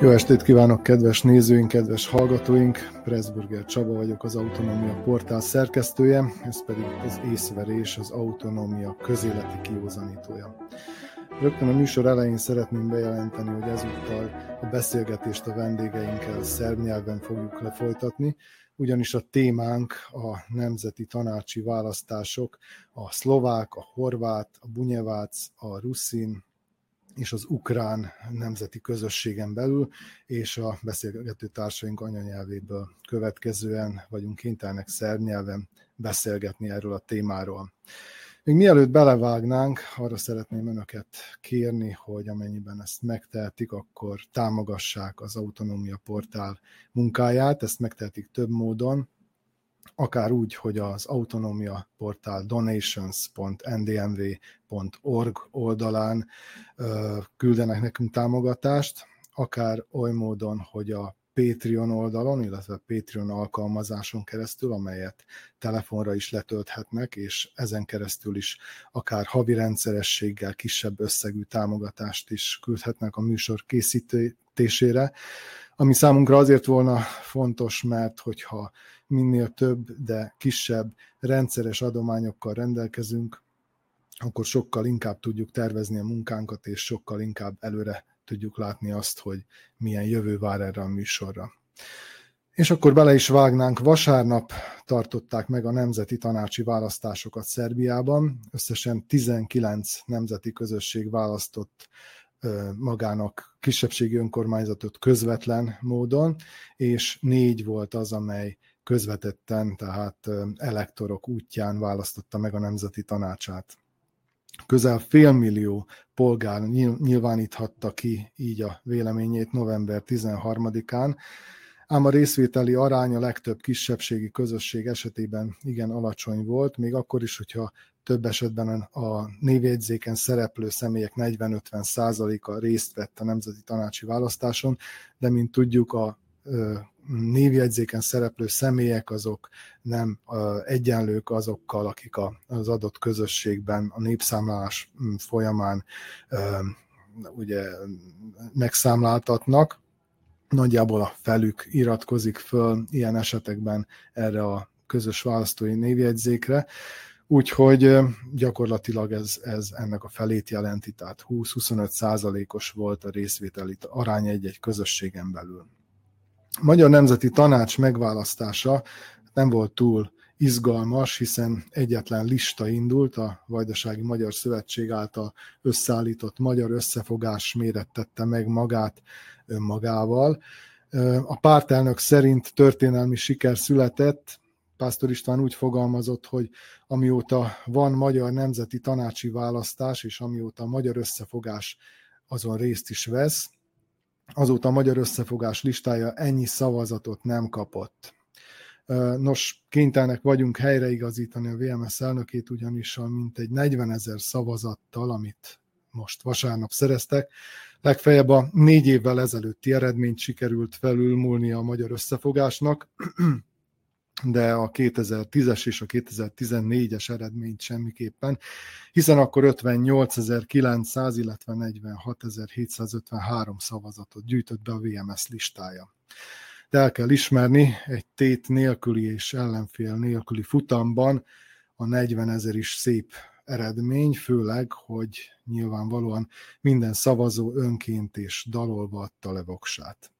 Jó estét kívánok, kedves nézőink, kedves hallgatóink! Pressburger Csaba vagyok, az Autonómia portál szerkesztője, ez pedig az Észverés, az Autonómia közéleti kiózanítója. Rögtön a műsor elején szeretném bejelenteni, hogy ezúttal a beszélgetést a vendégeinkkel szerb nyelven fogjuk lefolytatni, ugyanis a témánk a nemzeti tanácsi választások, a szlovák, a horvát, a bunyevác, a ruszin és az ukrán nemzeti közösségen belül, és a beszélgető társaink anyanyelvéből következően vagyunk kénytelenek szerb nyelven beszélgetni erről a témáról. Még mielőtt belevágnánk, arra szeretném önöket kérni, hogy amennyiben ezt megtehetik, akkor támogassák az Autonómia portál munkáját. Ezt megtehetik több módon, akár úgy, hogy az Autonómia portál donations.ndmv.org oldalán küldenek nekünk támogatást, akár oly módon, hogy a Patreon oldalon, illetve a Patreon alkalmazáson keresztül, amelyet telefonra is letölthetnek, és ezen keresztül is akár havi rendszerességgel kisebb összegű támogatást is küldhetnek a műsor készítésére, ami számunkra azért volna fontos, mert hogyha minél több, de kisebb rendszeres adományokkal rendelkezünk, akkor sokkal inkább tudjuk tervezni a munkánkat, és sokkal inkább előre tudjuk látni azt, hogy milyen jövő vár erre a műsorra. És akkor bele is vágnánk. Vasárnap tartották meg a nemzeti tanácsi választásokat Szerbiában. Összesen 19 nemzeti közösség választott magának kisebbségi önkormányzatot közvetlen módon, és 4 volt az, amely közvetetten, tehát elektorok útján választotta meg a nemzeti tanácsát. Közel 500 000 polgár nyilváníthatta ki így a véleményét november 13-án, ám a részvételi arány a legtöbb kisebbségi közösség esetében igen alacsony volt, még akkor is, hogyha több esetben a névjegyzéken szereplő személyek 40-50%-a részt vett a nemzeti tanácsi választáson, de mint tudjuk, a névjegyzéken szereplő személyek azok nem egyenlők azokkal, akik az adott közösségben a népszámlálás folyamán ugye megszámláltatnak. Nagyjából a felük iratkozik föl ilyen esetekben erre a közös választói névjegyzékre, úgyhogy gyakorlatilag ez ennek a felét jelenti, tehát 20-25%-os volt a részvételi arány egy közösségen belül. A Magyar Nemzeti Tanács megválasztása nem volt túl izgalmas, hiszen egyetlen lista indult, a Vajdasági Magyar Szövetség által összeállított Magyar Összefogás mérettette meg magát önmagával. A pártelnök szerint történelmi siker született. Pásztor István úgy fogalmazott, hogy amióta van Magyar Nemzeti Tanácsi választás, és amióta a Magyar Összefogás azon részt is vesz, azóta a Magyar Összefogás listája ennyi szavazatot nem kapott. Nos, kénytelenek vagyunk helyreigazítani a VMS elnökét, ugyanis a mintegy 40 000 szavazattal, amit most vasárnap szereztek, legfeljebb a 4 évvel ezelőtti eredményt sikerült felülmúlnia a Magyar Összefogásnak, de a 2010-es és a 2014-es eredményt semmiképpen, hiszen akkor 58.900, illetve 46.753 szavazatot gyűjtött be a VMS listája. De el kell ismerni, egy tét nélküli és ellenfél nélküli futamban a 40 000 is szép eredmény, főleg, hogy nyilvánvalóan minden szavazó önként és dalolva adta le voksát.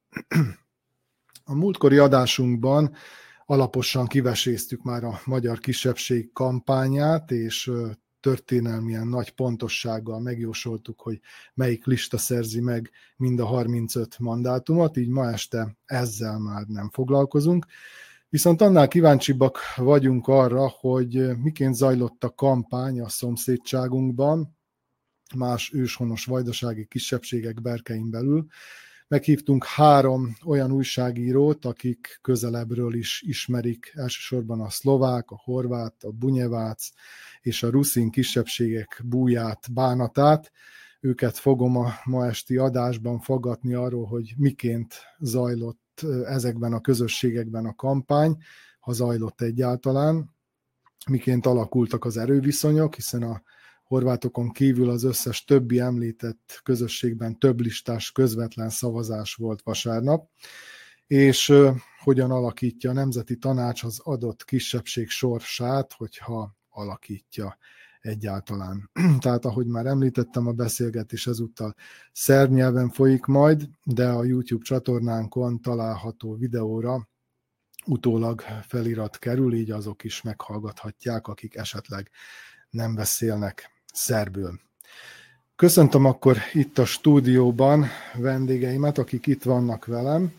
A múltkori adásunkban alaposan kiveséztük már a magyar kisebbség kampányát, és történelmien nagy pontossággal megjósoltuk, hogy melyik lista szerzi meg mind a 35 mandátumot, így ma este ezzel már nem foglalkozunk. Viszont annál kíváncsibbak vagyunk arra, hogy miként zajlott a kampány a szomszédságunkban, más őshonos vajdasági kisebbségek berkein belül. Meghívtunk 3 olyan újságírót, akik közelebbről is ismerik elsősorban a szlovák, a horvát, a bunyevác és a ruszin kisebbségek búját, bánatát. Őket fogom a ma esti adásban faggatni arról, hogy miként zajlott ezekben a közösségekben a kampány, ha zajlott egyáltalán, miként alakultak az erőviszonyok, hiszen a horvátokon kívül az összes többi említett közösségben több listás közvetlen szavazás volt vasárnap, és hogyan alakítja a Nemzeti Tanács az adott kisebbség sorsát, hogyha alakítja egyáltalán. Tehát, ahogy már említettem, a beszélgetés ezúttal szerb nyelven folyik majd, de a YouTube csatornánkon található videóra utólag felirat kerül, így azok is meghallgathatják, akik esetleg nem beszélnek szerbül. Köszöntöm akkor itt a stúdióban vendégeimet, akik itt vannak velem.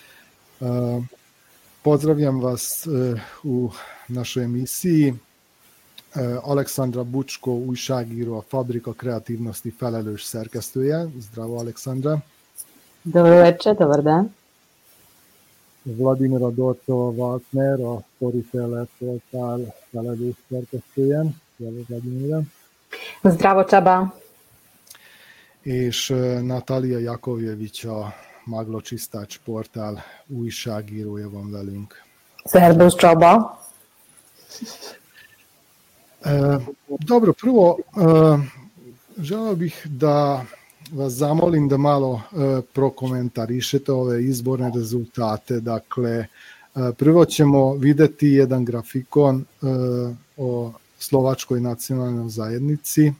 Pozdravljam vas u našoj emisiji. Aleksandra Bučko, újságíró, a Fabrika kreativnosti felelős szerkesztője. Zdravo, Aleksandra. Dobro večer, dobar dan. Vladimira Dorcova-Waltner, a Storyteller portál felelős szerkesztője. Zdravo, Vladimira. Zdravo, Csaba. És Natalija Jakovjević, a Maglo Čistač portál újságírója van velünk. Servus, Csaba. Dobro, prvo želeo bih da vas zamolim da malo prokomentarišete ove izborne rezultate. Dakle, prvo ćemo videti jedan grafikon o Slovačkoj nacionalnoj zajednici.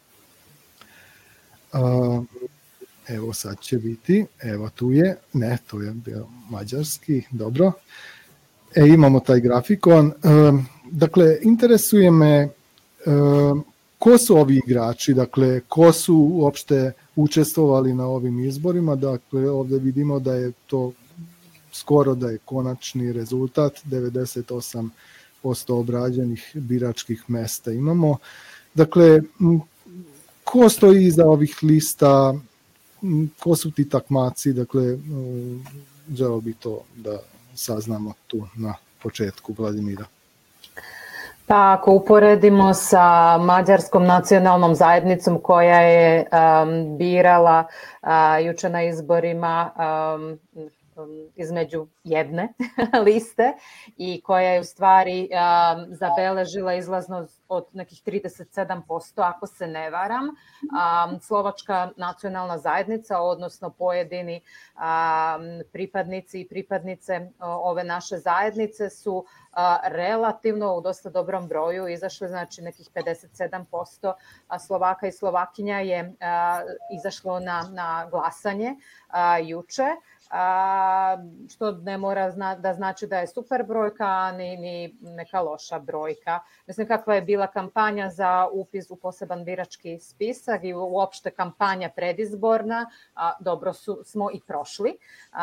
Evo sad će biti, evo tu je, ne, to je bio mađarski, dobro. Imamo taj grafikon. Dakle, interesuje me ko su ovi igrači, dakle, ko su uopšte učestvovali na ovim izborima. Dakle, ovdje vidimo da je to skoro da je konačni rezultat, 98% obrađenih biračkih mesta imamo. Dakle, ko stoji iza ovih lista, ko su ti takmaci, dakle, želeo bi to da saznamo tu na početku, Vladimira. Pa ako uporedimo sa Mađarskom nacionalnom zajednicom koja je birala juče na izborima između jedne liste i koja je u stvari zabeležila izlaznost od nekih 37%, ako se ne varam. Slovačka nacionalna zajednica, odnosno pojedini pripadnici i pripadnice ove naše zajednice su relativno u dosta dobrom broju izašli, znači nekih 57% Slovaka i Slovakinja je izašlo na glasanje juče. Što ne mora da znači da je super brojka ni neka loša brojka. Mislim kakva je bila kampanja za upis u poseban birački spisak i uopšte kampanja predizborna, dobro smo i prošli.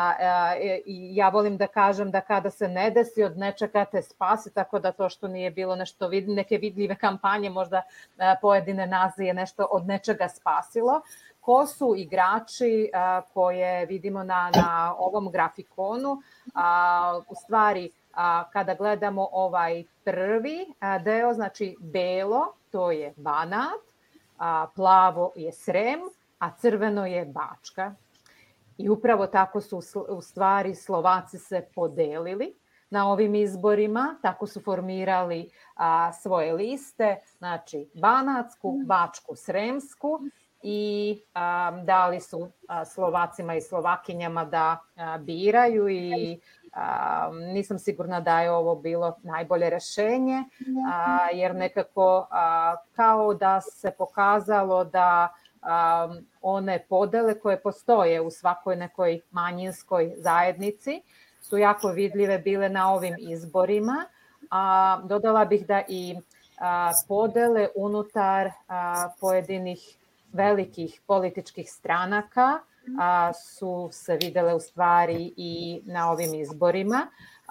Ja volim da kažem da kada se ne desi od nečega te spasi, tako da to što nije bilo nešto neke vidljive kampanje, možda pojedine nas je nešto od nečega spasilo. Ko su igrači koje vidimo na ovom grafikonu? U stvari, kada gledamo ovaj prvi deo, znači belo, to je Banat, plavo je Srem, a crveno je Bačka. I upravo tako su u stvari Slovaci se podelili na ovim izborima, tako su formirali svoje liste, znači Banatsku, Bačku, Sremsku, i dali su Slovacima i Slovakinjama da biraju i nisam sigurna da je ovo bilo najbolje rešenje, jer nekako kao da se pokazalo da one podele koje postoje u svakoj nekoj manjinskoj zajednici su jako vidljive bile na ovim izborima. Dodala bih da i podele unutar pojedinih velikih političkih stranaka su se videle u stvari i na ovim izborima.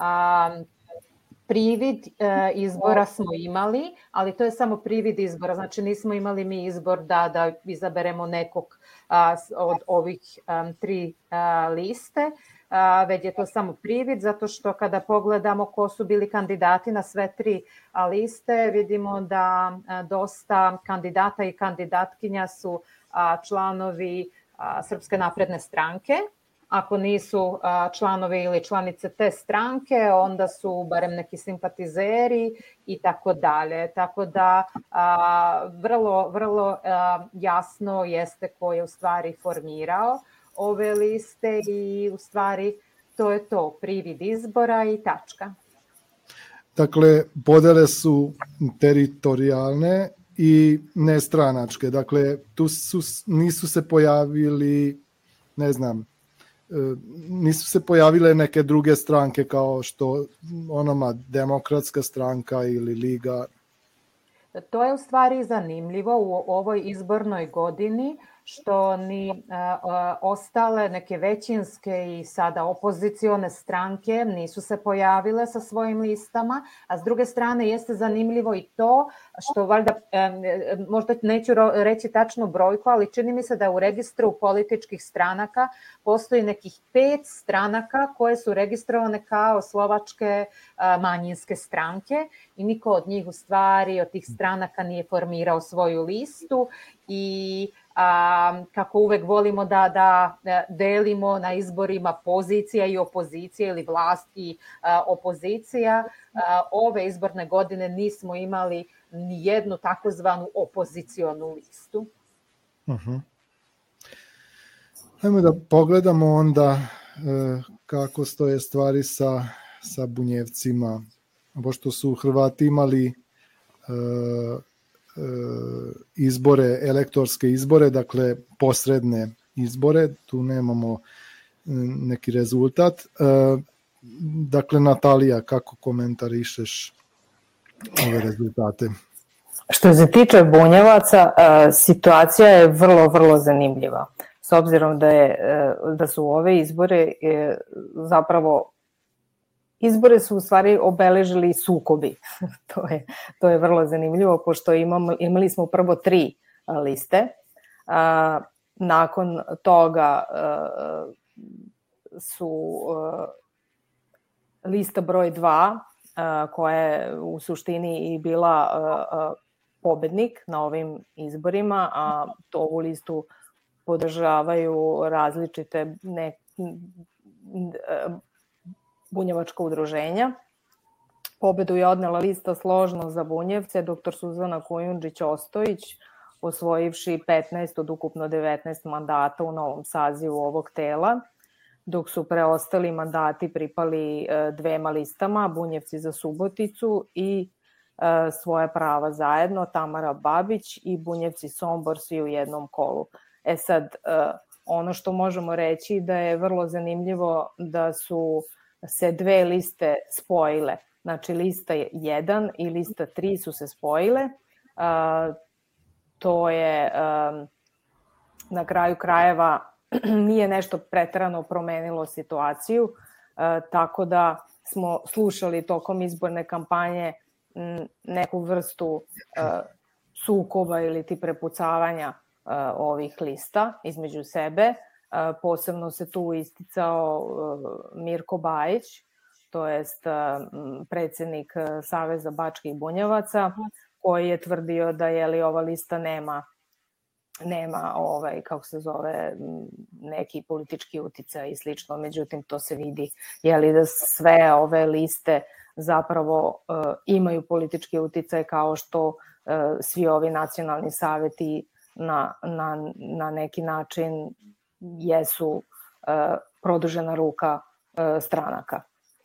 Privid izbora smo imali, ali to je samo privid izbora, znači nismo imali mi izbor da izaberemo nekog od ovih tri liste, već je to samo privid, zato što kada pogledamo ko su bili kandidati na sve tri liste, vidimo da dosta kandidata i kandidatkinja su članovi Srpske napredne stranke, ako nisu članovi ili članice te stranke, onda su barem neki simpatizeri i tako dalje. Tako da vrlo jasno jeste ko je u stvari formirao ove liste i u stvari to je to, privid izbora i tačka. Dakle, podele su teritorijalne i nestranačke. Dakle, tu nisu se pojavili, ne znam, nisu se pojavile neke druge stranke kao što onoma Demokratska stranka ili Liga. To je u stvari zanimljivo u ovoj izbornoj godini, što ni ostale neke većinske i sada opozicione stranke nisu se pojavile sa svojim listama, a s druge strane jeste zanimljivo i to što valjda, možda neću reći tačnu brojku, ali čini mi se da u registru političkih stranaka postoji nekih 5 stranaka koje su registrovane kao slovačke manjinske stranke i niko od njih u stvari, od tih stranaka nije formirao svoju listu i kako uvek volimo da delimo na izborima pozicija i opozicija ili vlast i opozicija, ove izborne godine nismo imali ni jednu takozvanu opozicionu listu. Hajmo da pogledamo onda kako stoje stvari sa Bunjevcima, pošto su Hrvati imali izbore, elektorske izbore, dakle posredne izbore, tu nemamo neki rezultat. Dakle, Natalija, kako komentarišeš ove rezultate? Što se tiče Bunjevaca, situacija je vrlo, vrlo zanimljiva. S obzirom da su ove izbore zapravo izbore su u stvari obeležili sukobi. To je vrlo zanimljivo, pošto imali smo prvo 3 liste. Nakon toga su lista broj 2, koja je u suštini i bila pobednik na ovim izborima, a ovu listu podržavaju različite bunjevačka udruženja. Pobedu je odnela lista Složno za Bunjevce, dr. Suzana Kujundžić-Ostojić, osvojivši 15 od ukupno 19 mandata u novom sazivu ovog tela, dok su preostali mandati pripali 2 listama, Bunjevci za Suboticu i Svoja prava zajedno, Tamara Babić i Bunjevci Sombor, svi u jednom kolu. Sad, ono što možemo reći da je vrlo zanimljivo da su se 2 liste spojile. Znači, lista 1 i lista 3 su se spojile. To je na kraju krajeva nije nešto preterano promenilo situaciju, tako da smo slušali tokom izborne kampanje neku vrstu sukoba ili ti prepucavanja ovih lista između sebe. Posebno se tu isticao Mirko Bajić, to jest predsednik Saveza Bačkih Bunjevaca, koji je tvrdio da ova lista nema kako se zove, neki politički uticaj i slično. Međutim, to se vidi da sve ove liste zapravo imaju politički uticaj, kao što svi ovi nacionalni saveti na neki način jesu produžena ruka stranaka.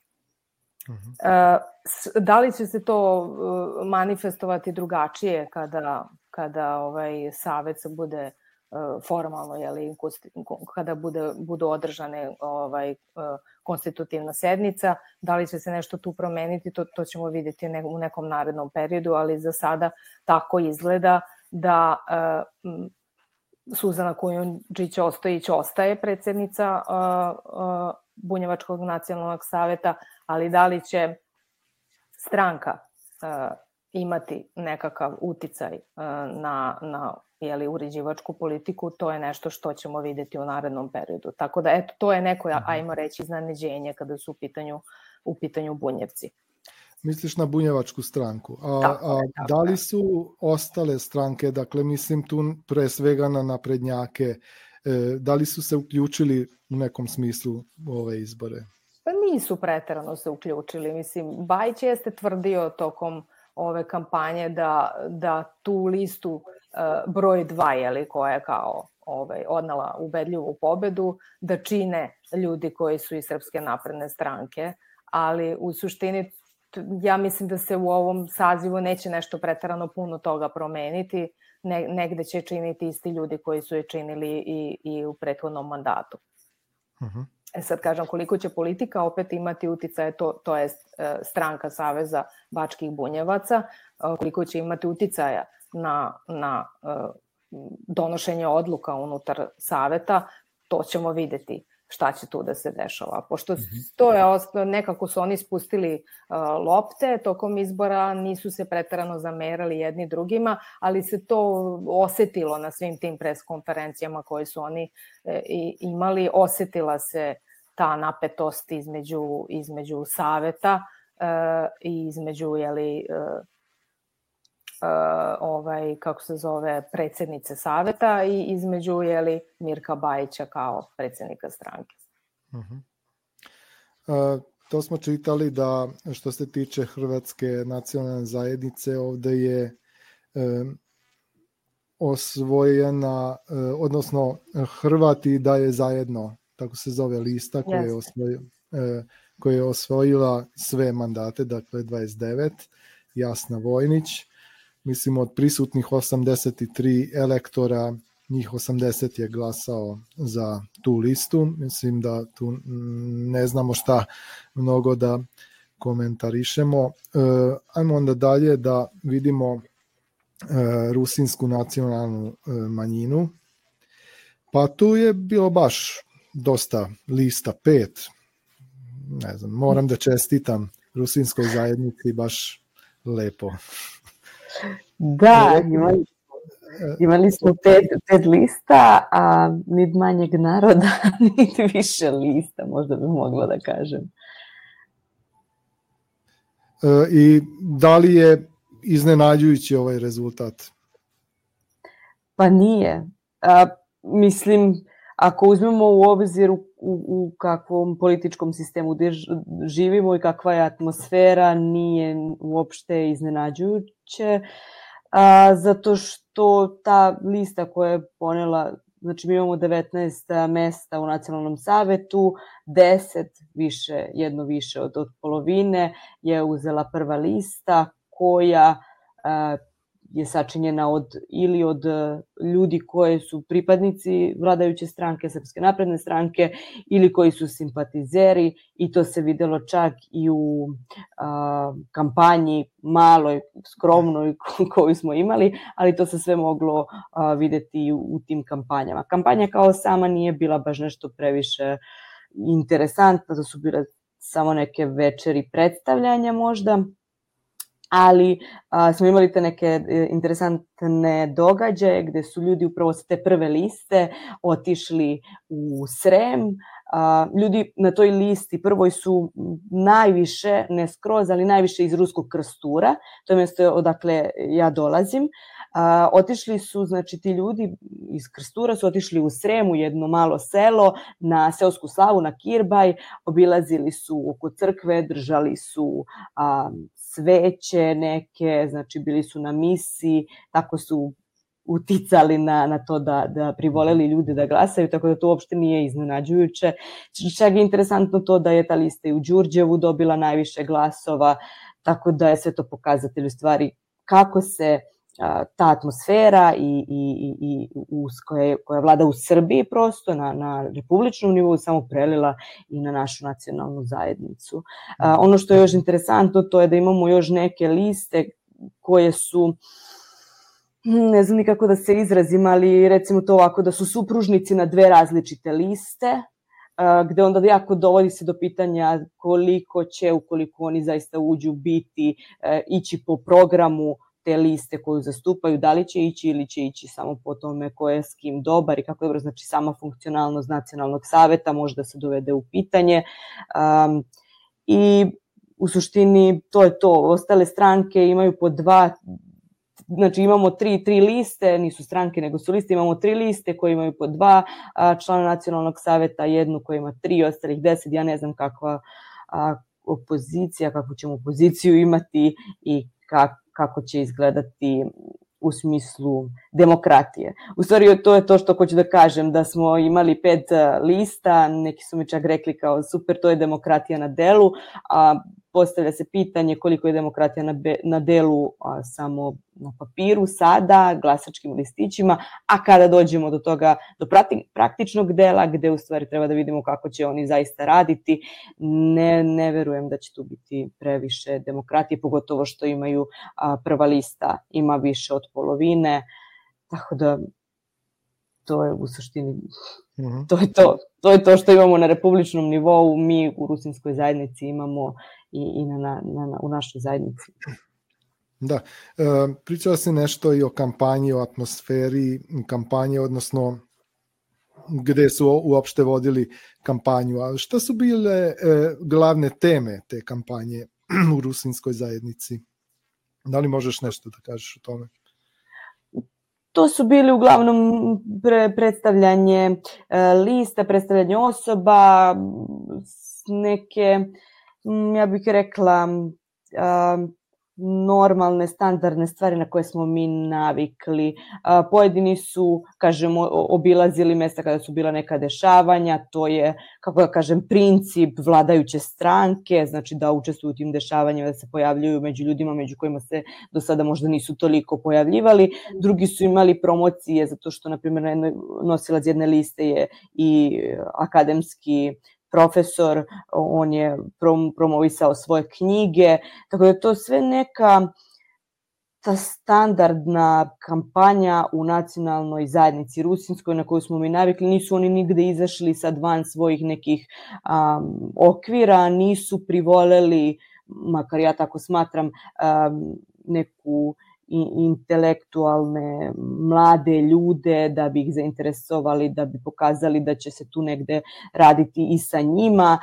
Da li će se to manifestovati drugačije kada savet se bude formalno, kada budu održane konstitutivna sednica, da li će se nešto tu promeniti, to ćemo vidjeti u nekom narednom periodu, ali za sada tako izgleda da Suzana Kujundžić-Ostojić ostaje predsednica Bunjevačkog nacionalnog saveta, ali da li će stranka imati nekakav uticaj na uređivačku politiku, to je nešto što ćemo videti u narednom periodu. Tako da, to je neko, ajmo reći, iznenađenje kada su u pitanju Bunjevci. Misliš na Bunjevačku stranku. Da li su ostale stranke, dakle mislim tu pre svega na naprednjake, Da li su se uključili u nekom smislu u ove izbore? Pa nisu preterano se uključili. Mislim, Bajić jeste tvrdio tokom ove kampanje da tu listu broj 2, koja je kao odnela ubedljivu pobedu, da čine ljudi koji su iz Srpske napredne stranke, ali u suštini ja mislim da se u ovom sazivu neće nešto preterano puno toga promeniti, negde će činiti isti ljudi koji su je činili i u prethodnom mandatu. Uh-huh. Sad kažem, koliko će politika opet imati uticaje, to je stranka Saveza bačkih bunjevaca, koliko će imati uticaja na donošenje odluka unutar saveta, to ćemo videti šta će tu da se dešava. Pošto to je, nekako su oni spustili lopte tokom izbora, nisu se preterano zamerali jedni drugima, ali se to osetilo na svim tim pres konferencijama koje su oni imali. Osetila se ta napetost između saveta i između kako se zove, predsjednice saveta i između Mirka Bajića kao predsjednika stranke. To smo čitali da što se tiče Hrvatske nacionalne zajednice, ovde je osvojena, odnosno Hrvati daje zajedno, tako se zove lista koja je osvojila sve mandate, dakle 29, Jasna Vojnić. Mislim, od prisutnih 83 elektora, njih 80 je glasao za tu listu. Mislim da tu ne znamo šta mnogo da komentarišemo. Ajmo onda dalje da vidimo rusinsku nacionalnu manjinu. Pa tu je bilo baš dosta lista, 5. Ne znam, moram da čestitam rusinskoj zajednici, baš lepo. Da, imali smo 5 lista, a nit manjeg naroda, nit više lista, možda bi mogla da kažem. I da li je iznenađujući ovaj rezultat? Pa nije. Mislim, ako uzmemo u obzir u kakvom političkom sistemu živimo i kakva je atmosfera, nije uopšte iznenađujuće, zato što ta lista koja je ponela, znači mi imamo 19 mesta u Nacionalnom savetu, 10 više, jedno više od polovine je uzela prva lista koja je sačinjena od ljudi koji su pripadnici vladajuće stranke, Srpske napredne stranke, ili koji su simpatizeri, i to se videlo čak i u kampanji maloj, skromnoj koju smo imali, ali to se sve moglo videti u tim kampanjama. Kampanja kao sama nije bila baš nešto previše interesantna, to su bile samo neke večeri predstavljanja možda, ali smo imali te neke interesantne događaje gde su ljudi upravo sa te prve liste otišli u Srem. Ljudi na toj listi prvoj su najviše, ne skroz, ali najviše iz Ruskog Krstura, to je mjesto odakle ja dolazim. Otišli su, znači ti ljudi iz Krstura su otišli u Srem, u jedno malo selo, na seosku slavu, na Kirbaj, obilazili su oko crkve, držali su sveće neke, znači bili su na misi, tako su uticali na to da privoleli ljude da glasaju, tako da to uopšte nije iznenađujuće. Čak je interesantno to da je ta lista i u Đurđevu dobila najviše glasova, tako da je sve to pokazatelj u stvari kako se ta atmosfera koja vlada u Srbiji prosto na republičnom nivou samo prelila i na našu nacionalnu zajednicu. Ono što je još interesantno to je da imamo još neke liste koje su, ne znam nikako da se izrazim, ali recimo to ovako, da su supružnici na 2 različite liste, gde onda jako dovodi se do pitanja koliko će, ukoliko oni zaista uđu, ići po programu te liste koju zastupaju, da li će ići ili će ići samo po tome ko je s kim dobar i kako je dobro, znači sama funkcionalnost nacionalnog saveta možda se dovede u pitanje. I u suštini to je to. Ostale stranke imaju po 2 znači imamo tri liste, nisu stranke nego su liste, imamo 3 liste koje imaju po 2 člana nacionalnog saveta, jednu koja ima 3, ostalih 10, ja ne znam kakva opozicija, kakvu ćemo opoziciju imati i kako će izgledati u smislu demokratije. U stvari to je to što hoću da kažem, da smo imali 5 lista, neki su mi čak rekli kao super, to je demokratija na delu, a postavlja se pitanje koliko je demokratija na delu samo na papiru sada, glasačkim listićima, a kada dođemo do toga, do praktičnog dela, gde u stvari treba da vidimo kako će oni zaista raditi, ne verujem da će tu biti previše demokratije, pogotovo što imaju prva lista, ima više od polovine, tako da to je u suštini, to je to što imamo na republičnom nivou, mi u rusinskoj zajednici imamo i u našoj zajednici. Da, pričala si nešto i o kampanji, o atmosferi kampanje, odnosno gde su uopšte vodili kampanju. A šta su bile glavne teme te kampanje u rusinskoj zajednici? Da li možeš nešto da kažeš o tome? To su bili uglavnom predstavljanje lista, predstavljanje osoba, neke, ja bih rekla, normalne, standardne stvari na koje smo mi navikli. Pojedini su, kažemo, obilazili mesta kada su bila neka dešavanja, to je, kako da kažem, princip vladajuće stranke, znači da učestvuju u tim dešavanjima, da se pojavljuju među ljudima među kojima se do sada možda nisu toliko pojavljivali. Drugi su imali promocije, zato što, na primjer, nosilac jedne liste je i akademski profesor, on je promovisao svoje knjige, tako da to sve neka ta standardna kampanja u nacionalnoj zajednici rusinskoj na koju smo mi navikli. Nisu oni nigde izašli sad van svojih nekih okvira, nisu privoleli, makar ja tako smatram, neku intelektualne mlade ljude da bi ih zainteresovali, da bi pokazali da će se tu negde raditi i sa njima.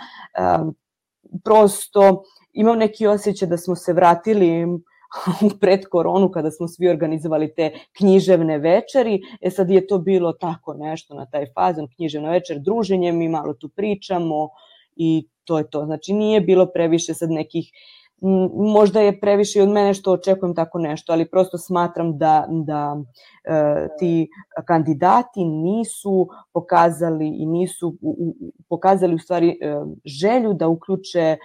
Prosto imam neki osjećaj da smo se vratili pred koronu kada smo svi organizovali te književne večeri. Sad je to bilo tako nešto na taj fazon, književna večer, druženje, mi malo tu pričamo i to je to. Znači nije bilo previše sad nekih, možda je previše i od mene što očekujem tako nešto, ali prosto smatram da ti kandidati nisu pokazali i nisu pokazali u stvari želju da uključe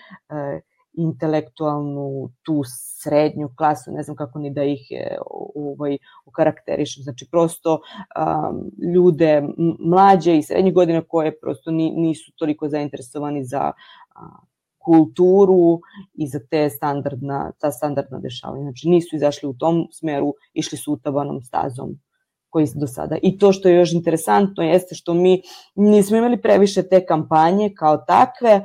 intelektualnu tu srednju klasu, ne znam kako ni da ih okarakterišem, znači prosto ljude mlađe i srednjih godina koje prosto nisu toliko zainteresovani za kulturu i za ta standardna dešavanja. Znači nisu izašli u tom smeru, išli su utabanom stazom koji do sada. I to što je još interesantno jeste što mi nismo imali previše te kampanje kao takve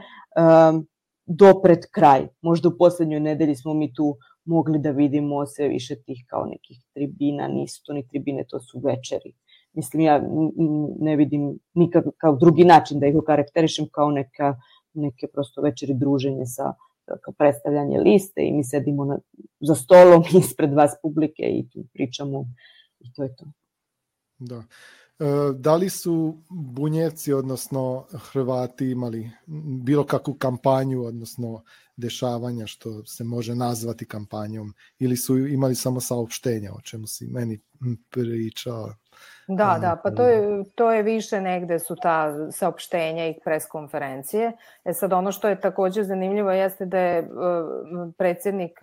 do pred kraj. Možda u poslednjoj nedelji smo mi tu mogli da vidimo sve više tih kao nekih tribina, nisu to ni tribine, to su večeri. Mislim, ja ne vidim nikakav kao drugi način da ih okarakterišem kao neke prosto večeri druženje sa predstavljanje liste i mi sedimo za stolom ispred vas publike i tu pričamo i to je to. Da. Da li su Bunjevci, odnosno Hrvati, imali bilo kakvu kampanju, odnosno dešavanja što se može nazvati kampanjom, ili su imali samo saopštenja, o čemu si meni pričao? Da, pa to je više negde su ta saopštenja i preskonferencije. Sad ono što je takođe zanimljivo jeste da je predsjednik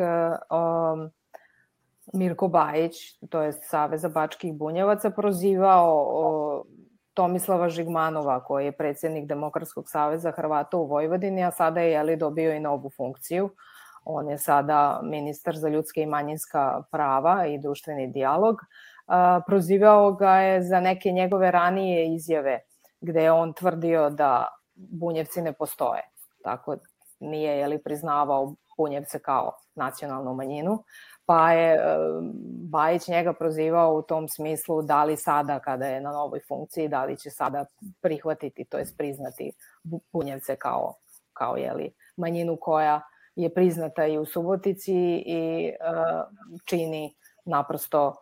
Mirko Bajić, to je Saveza bačkih bunjevaca, prozivao Tomislava Žigmanova, koji je predsjednik Demokratskog saveza Hrvata u Vojvodini, a sada je dobio i novu funkciju. On je sada ministar za ljudske i manjinska prava i društveni dijalog. Prozivao ga je za neke njegove ranije izjave gde je on tvrdio da Bunjevci ne postoje. Tako nije priznavao Bunjevce kao nacionalnu manjinu. Pa je Bajić njega prozivao u tom smislu da li sada kada je na novoj funkciji, da li će sada prihvatiti, to jest priznati Bunjevce kao manjinu koja je priznata i u Subotici i čini naprosto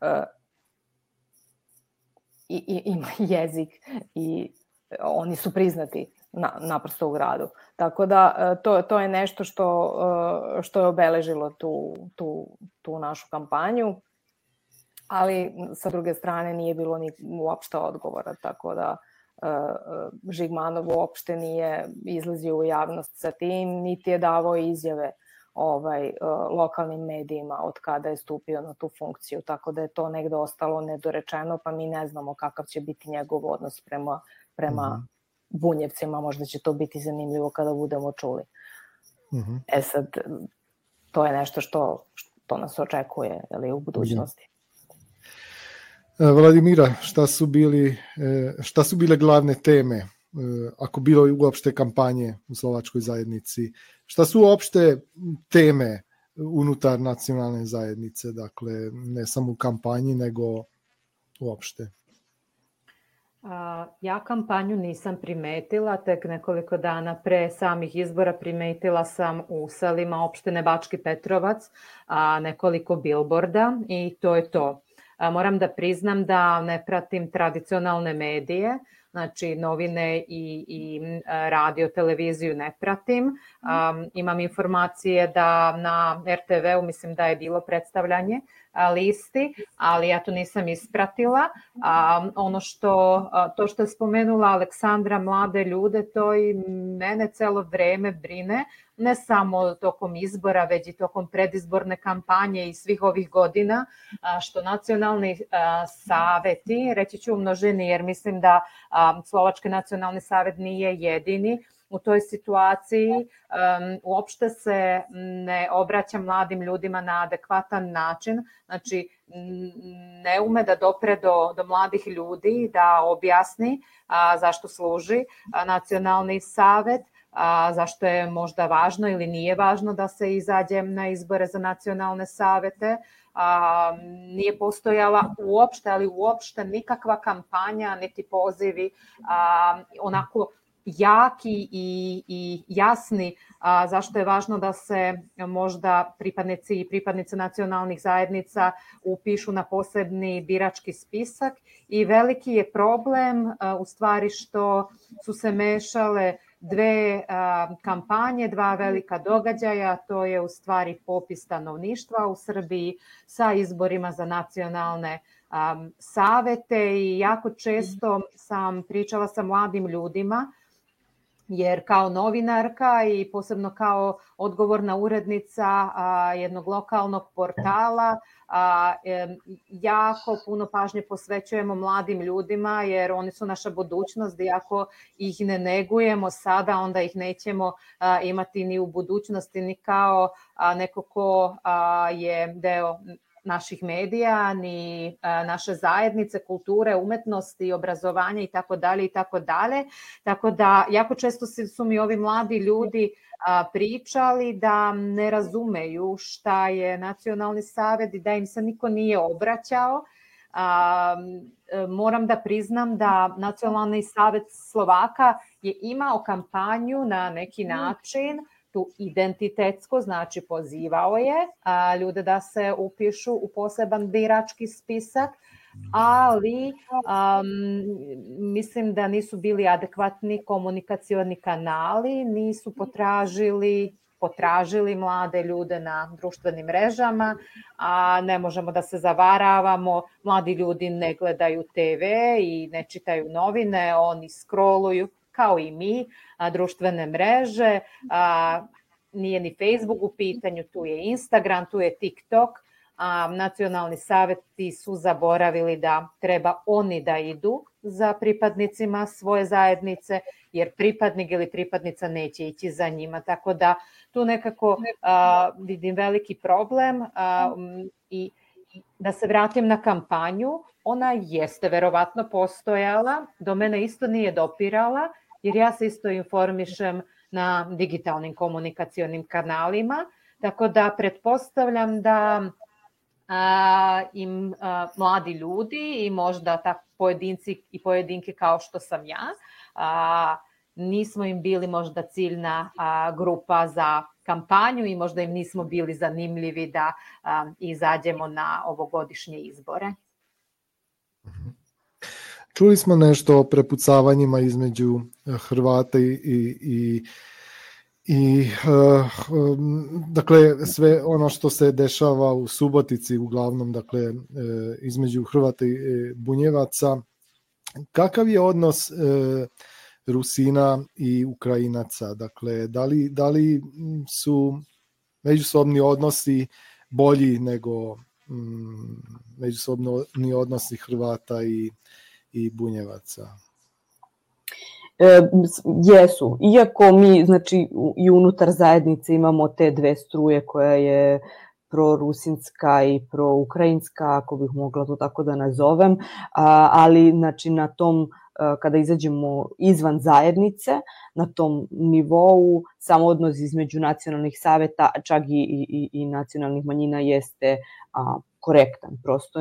ima jezik i oni su priznati naprosto u gradu. Tako da to je nešto što je obeležilo tu našu kampanju, ali sa druge strane nije bilo ni uopšte odgovora, tako da Žigmanov uopšte nije izlazio u javnost sa tim, niti je davao izjave lokalnim medijima od kada je stupio na tu funkciju, tako da je to negde ostalo nedorečeno, pa mi ne znamo kakav će biti njegov odnos prema Bunjevcima, možda će to biti zanimljivo kada budemo čuli. Sad, to je nešto što nas očekuje u budućnosti. Vladimira, šta su bile glavne teme, ako bilo i uopšte kampanje u slovačkoj zajednici? Šta su uopšte teme unutar nacionalne zajednice, dakle ne samo u kampanji, nego uopšte? Ja kampanju nisam primetila, tek nekoliko dana pre samih izbora primetila sam u selima opštine Bački Petrovac nekoliko bilborda i to je to. Moram da priznam da ne pratim tradicionalne medije, znači novine i radio, televiziju ne pratim. Imam informacije da na RTV-u mislim da je bilo predstavljanje listi, ali ja to nisam ispratila. To što je spomenula Aleksandra, mlade ljude, to i mene celo vreme brine, ne samo tokom izbora, već i tokom predizborne kampanje i svih ovih godina, što nacionalni saveti, reći ću u množini jer mislim da Slovački nacionalni savet nije jedini u toj situaciji, uopšte se ne obraća mladim ljudima na adekvatan način, znači ne ume da dopre do mladih ljudi, da objasni zašto služi nacionalni savet, zašto je možda važno ili nije važno da se izađe na izbore za nacionalne savete. Nije postojala uopšte nikakva kampanja, niti pozivi onako jaki i jasni zašto je važno da se možda pripadnici i pripadnice nacionalnih zajednica upišu na posebni birački spisak i veliki je problem u stvari što su se mešale dve kampanje, dva velika događaja, to je u stvari popis stanovništva u Srbiji sa izborima za nacionalne savete i jako često sam pričala sa mladim ljudima jer kao novinarka i posebno kao odgovorna urednica jednog lokalnog portala jako puno pažnje posvećujemo mladim ljudima jer oni su naša budućnost i ako ih ne negujemo sada, onda ih nećemo imati ni u budućnosti ni kao neko ko je deo naših medija, ni naše zajednice, kulture, umetnosti, obrazovanja i tako dalje. Tako da jako često su mi ovi mladi ljudi pričali da ne razumeju šta je nacionalni savet i da im se niko nije obraćao. Moram da priznam da Nacionalni savet Slovaka je imao kampanju na neki način, tu identitetsko, znači pozivao je ljude da se upišu u poseban birački spisak, ali mislim da nisu bili adekvatni komunikacioni kanali, nisu potražili mlade ljude na društvenim mrežama, a ne možemo da se zavaravamo, mladi ljudi ne gledaju TV i ne čitaju novine, oni scrolluju kao i mi, društvene mreže, nije ni Facebook u pitanju, tu je Instagram, tu je TikTok, nacionalni saveti su zaboravili da treba oni da idu za pripadnicima svoje zajednice, jer pripadnik ili pripadnica neće ići za njima, tako da tu nekako vidim veliki problem i da se vratim na kampanju, ona jeste verovatno postojala, do mene isto nije dopirala, jer ja se isto informišem na digitalnim komunikacionim kanalima, tako da pretpostavljam da im mladi ljudi i možda pojedinci i pojedinke kao što sam ja, nismo im bili možda ciljna grupa za kampanju i možda im nismo bili zanimljivi da izađemo na ovogodišnje izbore. Čuli smo nešto o prepucavanjima između Hrvata i dakle sve ono što se dešava u Subotici uglavnom, dakle između Hrvata i Bunjevaca. Kakav je odnos Rusina i Ukrajinaca? Dakle, da li su međusobni odnosi bolji nego međusobni odnosi Hrvata i Bunjevaca? Jesu. Iako mi, znači, i unutar zajednice imamo te dve struje koja je prorusinska i proukrajinska, ako bih mogla to tako da nazovem, ali znači na tom, kada izađemo izvan zajednice, na tom nivou samo odnos između nacionalnih saveta, čak i nacionalnih manjina jeste korektan. Prosto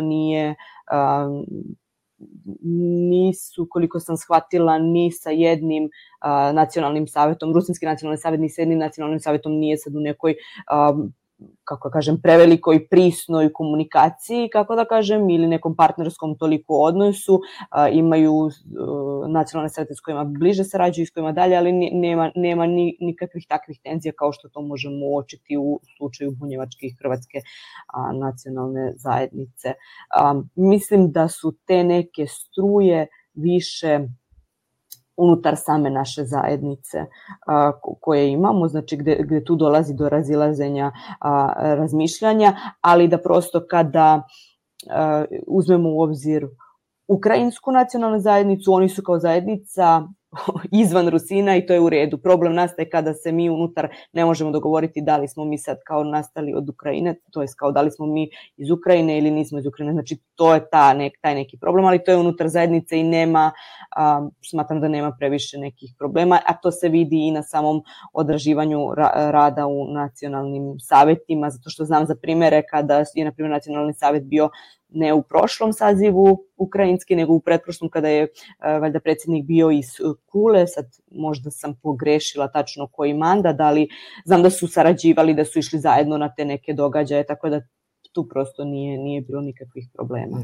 nisu, koliko sam shvatila, ni sa jednim nacionalnim savetom, Rusinski nacionalni savet ni sa jednim nacionalnim savetom nije sad u nekoj, kako kažem, prevelikoj prisnoj komunikaciji, kako da kažem, ili nekom partnerskom toliko odnosu. Imaju nacionalne savete s kojima bliže sarađuju i s kojima dalje, ali nema nikakvih takvih tenzija kao što to možemo uočiti u slučaju bunjevačke i hrvatske nacionalne zajednice. Mislim da su te neke struje više unutar same naše zajednice koje imamo, znači gde tu dolazi do razilaženja razmišljanja, ali da prosto kada uzmemo u obzir ukrajinsku nacionalnu zajednicu, oni su kao zajednica izvan Rusina i to je u redu. Problem nastaje kada se mi unutar ne možemo dogovoriti da li smo mi sad kao nastali od Ukrajine, to je kao da li smo mi iz Ukrajine ili nismo iz Ukrajine. Znači to je taj neki problem, ali to je unutar zajednice i nema, smatram da nema previše nekih problema, a to se vidi i na samom odraživanju rada u nacionalnim savetima, zato što znam za primere kada je, na primjer, nacionalni savet bio ne u prošlom sazivu ukrajinski, nego u pretprošlom kada je valjda predsjednik bio iz Kule, sad možda sam pogrešila tačno koji mandat, ali znam da su sarađivali, da su išli zajedno na te neke događaje, tako da tu prosto nije bilo nikakvih problema.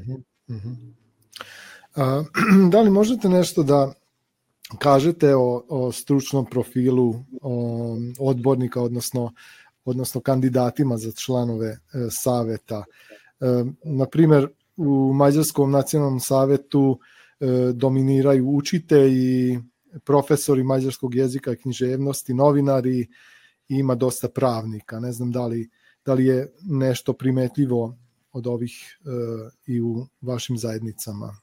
Da li možete nešto da kažete o stručnom profilu odbornika, odnosno kandidatima za članove saveta? Na primjer, u Mađarskom nacionalnom savetu dominiraju učitelji, profesori mađarskog jezika i književnosti, novinari i ima dosta pravnika. Ne znam da li je nešto primetljivo od ovih i u vašim zajednicama.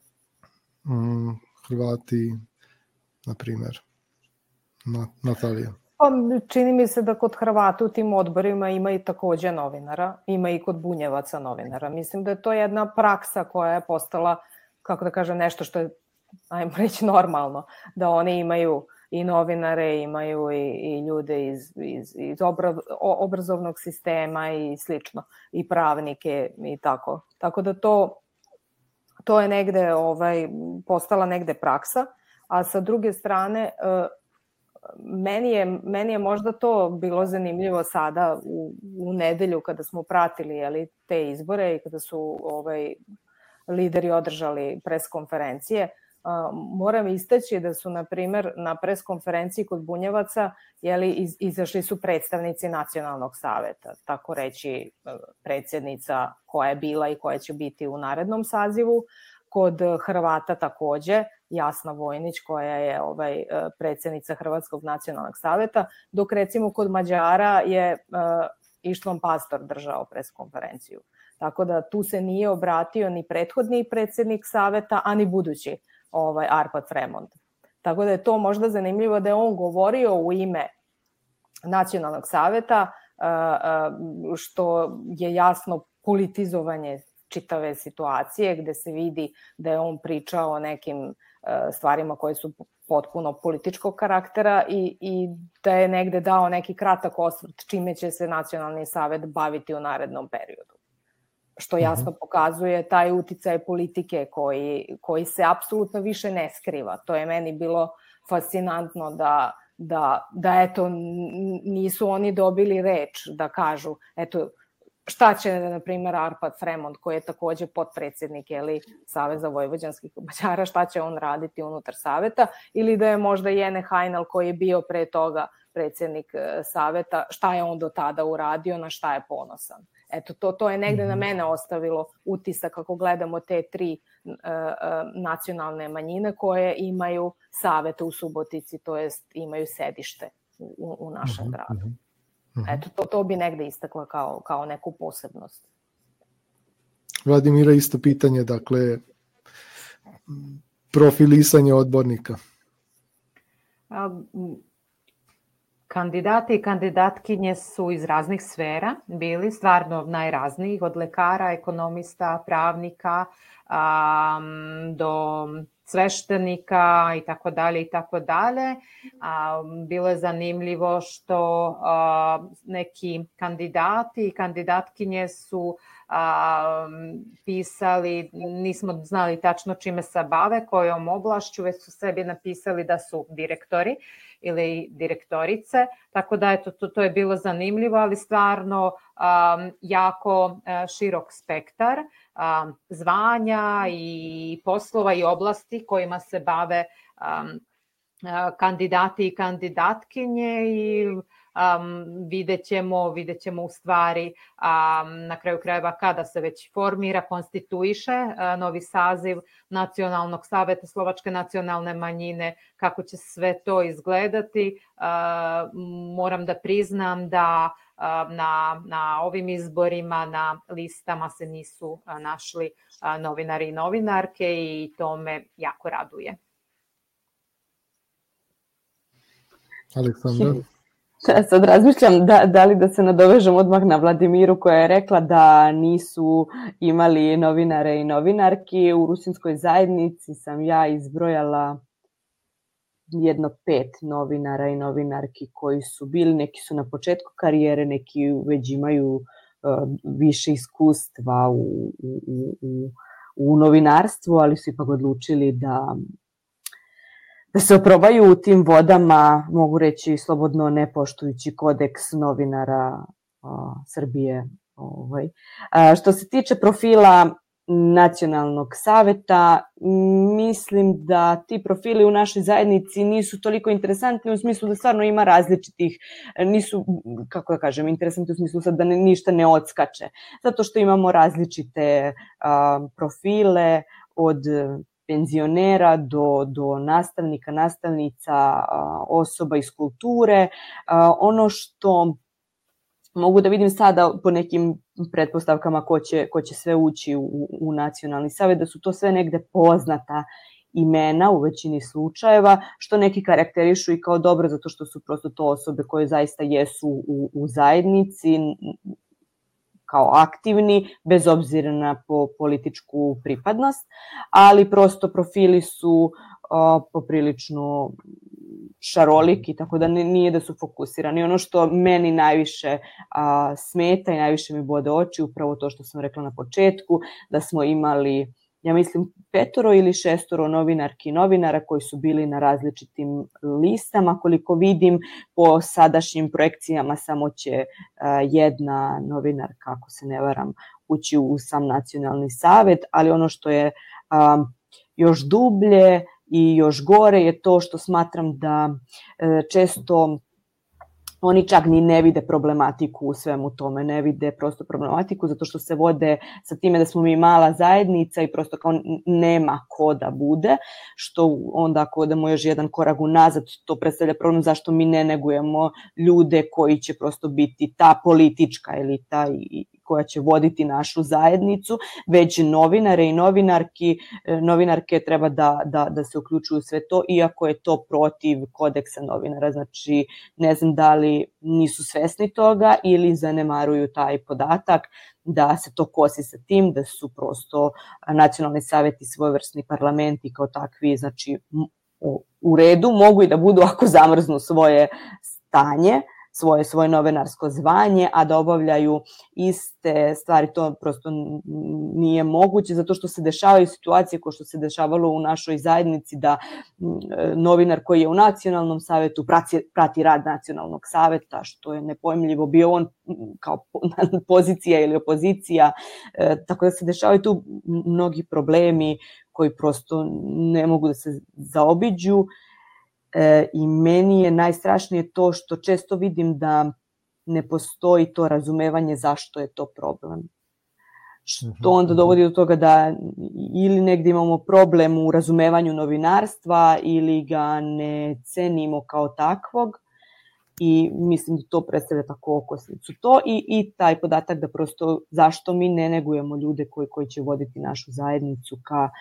Hrvati, na primjer. Natalija. Pa, čini mi se da kod Hrvata u tim odborima ima i takođe novinara, ima i kod Bunjevaca novinara. Mislim da je to jedna praksa koja je postala, kako da kažem, nešto što je, ajmo reći, normalno, da oni imaju i novinare, imaju i ljude iz obrazovnog sistema i slično, i pravnike i tako. Tako da to je negde postala negde praksa, a sa druge strane, meni je možda to bilo zanimljivo sada u nedelju kada smo pratili te izbore i kada su lideri održali pres konferencije. Moram istaći da su, na primer, na pres konferenciji kod Bunjevaca izašli su predstavnici nacionalnog saveta, tako reći predsjednica koja je bila i koja će biti u narednom sazivu. Kod Hrvata takođe Jasna Vojnić koja je predsjednica Hrvatskog nacionalnog saveta, dok recimo kod Mađara je Ištvan Pastor držao pres konferenciju. Tako da tu se nije obratio ni prethodni predsjednik saveta, a ni budući Arpad Fremond. Tako da je to možda zanimljivo da je on govorio u ime nacionalnog saveta, što je jasno politizovanje čitave situacije, gde se vidi da je on pričao o nekim stvarima koje su potpuno političkog karaktera i da je negde dao neki kratak osvrt čime će se nacionalni savet baviti u narednom periodu. Što jasno pokazuje taj uticaj politike koji se apsolutno više ne skriva. To je meni bilo fascinantno da eto, nisu oni dobili reč da kažu, eto, šta će, na primjer, Arpad Fremond, koji je takođe potpredsjednik Saveza vojvođanskih Mađara, šta će on raditi unutar saveta, ili da je možda Jene Hajnal, koji je bio pre toga predsjednik saveta, šta je on do tada uradio, na šta je ponosan. Eto, to je negde na mene ostavilo utisak kako gledamo te 3 nacionalne manjine koje imaju savete u Subotici, to jest imaju sedište u našem gradu. Eto, to bi negde istakla kao neku posebnost. Vladimira, isto pitanje, dakle, profilisanje odbornika. Kandidati i kandidatkinje su iz raznih sfera bili, stvarno najraznijih, od lekara, ekonomista, pravnika, do sveštenika i tako dalje i tako dalje. Bilo je zanimljivo što neki kandidati i kandidatkinje su pisali, nismo znali tačno čime se bave, kojom oblašću, već su sebi napisali da su direktori ili direktorice, tako da eto, to je bilo zanimljivo, ali stvarno jako širok spektar zvanja i poslova i oblasti kojima se bave kandidati i kandidatkinje i vidjet ćemo u stvari na kraju krajeva kada se već formira, konstituiše novi saziv Nacionalnog saveta Slovačke nacionalne manjine, kako će sve to izgledati. Moram da priznam da na ovim izborima na listama se nisu našli novinari i novinarke i to me jako raduje. Aleksandra? Sad razmišljam da li da se nadovežem odmah na Vladimiru koja je rekla da nisu imali novinare i novinarki. U rusinskoj zajednici sam ja izbrojala 5 novinara i novinarki koji su bili, neki su na početku karijere, neki već imaju više iskustva u novinarstvu, ali su ipak odlučili da se oprobaju u tim vodama, mogu reći slobodno ne poštujući kodeks novinara Srbije. Što se tiče profila Nacionalnog saveta, mislim da ti profili u našoj zajednici nisu toliko interesantni u smislu da stvarno ima različitih, nisu, kako da kažem, interesantni u smislu sad da ništa ne odskače, zato što imamo različite profile od penzionera do nastavnika, nastavnica, osoba iz kulture. Ono što mogu da vidim sada po nekim pretpostavkama ko će sve ući u Nacionalni savet, da su to sve negde poznata imena u većini slučajeva, što neki karakterišu i kao dobro zato što su prosto to osobe koje zaista jesu u zajednici, kao aktivni, bez obzira na političku pripadnost, ali prosto profili su poprilično šaroliki, tako da nije da su fokusirani. Ono što meni najviše smeta i najviše mi bode oči, upravo to što sam rekla na početku, da smo imali, ja mislim, 5 ili 6 novinarki i novinara koji su bili na različitim listama. Koliko vidim, po sadašnjim projekcijama samo će jedna novinarka, ako se ne varam, ući u sam Nacionalni savet, ali ono što je još dublje i još gore je to što smatram da često oni čak ni ne vide problematiku u svemu tome, ne vide prosto problematiku zato što se vode sa time da smo mi mala zajednica i prosto kao nema ko da bude, što onda ako odemo još jedan korak unazad, to predstavlja problem zašto mi ne negujemo ljude koji će prosto biti ta politička elita i koja će voditi našu zajednicu, već novinare i novinarke treba da se uključuju u sve to, iako je to protiv kodeksa novinara. Znači, ne znam da li nisu svesni toga ili zanemaruju taj podatak da se to kosi sa tim, da su prosto nacionalni saveti svojevrsni parlamenti kao takvi, znači u redu, mogu i da budu ako zamrznu svoje stanje, svoje novinarsko zvanje, a da obavljaju iste stvari. To prosto nije moguće, zato što se dešavaju situacije kao što se dešavalo u našoj zajednici, da novinar koji je u nacionalnom savetu prati rad nacionalnog saveta, što je nepojmljivo, bio on kao pozicija ili opozicija. Tako da se dešavaju tu mnogi problemi koji prosto ne mogu da se zaobiđu. I meni je najstrašnije to što često vidim da ne postoji to razumevanje zašto je to problem. Što onda dovodi do toga da ili negdje imamo problem u razumevanju novinarstva ili ga ne cenimo kao takvog, i mislim da to predstavlja tako okosnicu. To i taj podatak da prosto zašto mi ne negujemo ljude koji će voditi našu zajednicu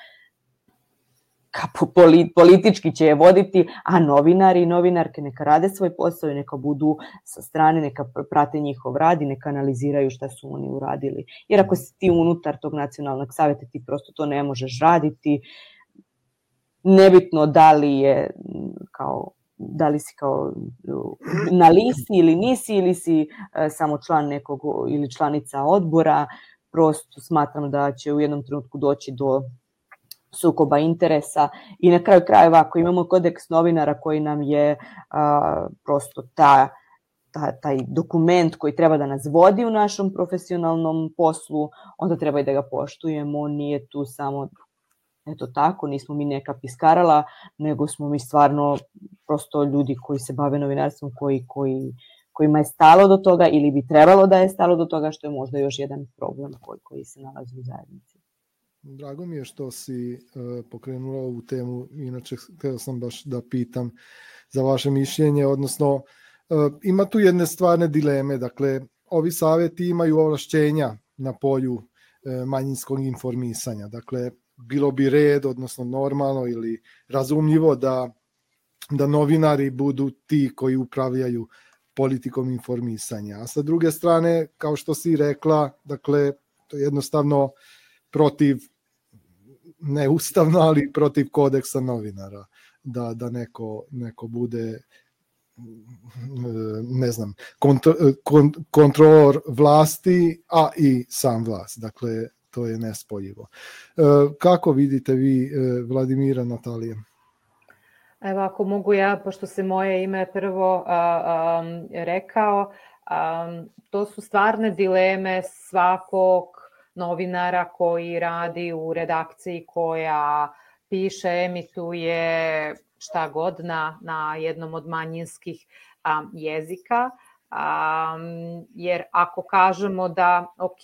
politički će je voditi, a novinari i novinarke neka rade svoj posao i neka budu sa strane, neka prate njihov rad i neka analiziraju šta su oni uradili. Jer ako si ti unutar tog nacionalnog savjeta, ti prosto to ne možeš raditi. Nebitno da li si kao na listi ili nisi, ili si samo član nekog ili članica odbora. Prosto smatram da će u jednom trenutku doći do sukoba interesa i na kraju krajeva ako imamo kodeks novinara koji nam je prosto taj dokument koji treba da nas vodi u našom profesionalnom poslu, onda treba i da ga poštujemo. Nije tu samo eto tako, nismo mi neka piskarala, nego smo mi stvarno prosto ljudi koji se bave novinarstvom, kojima je stalo do toga ili bi trebalo da je stalo do toga, što je možda još jedan problem koji se nalazi u zajednici. Drago mi je što si pokrenula ovu temu, inače htio sam baš da pitam za vaše mišljenje, odnosno ima tu jedne stvarne dileme, dakle ovi savjeti imaju ovlašćenja na polju manjinskog informisanja, dakle bilo bi red, odnosno normalno ili razumljivo da novinari budu ti koji upravljaju politikom informisanja, a sa druge strane, kao što si rekla, dakle to je jednostavno protiv, ne ustavno, ali protiv kodeksa novinara, da neko bude, ne znam, kontrolor vlasti, a i sam vlast. Dakle, to je nespojivo. Kako vidite vi, Vladimira, Natalija? Evo, ako mogu ja, pošto se moje ime prvo rekao, to su stvarne dileme svakog novinara koji radi u redakciji koja piše, emituje šta god na jednom od manjinskih jezika. Jer ako kažemo da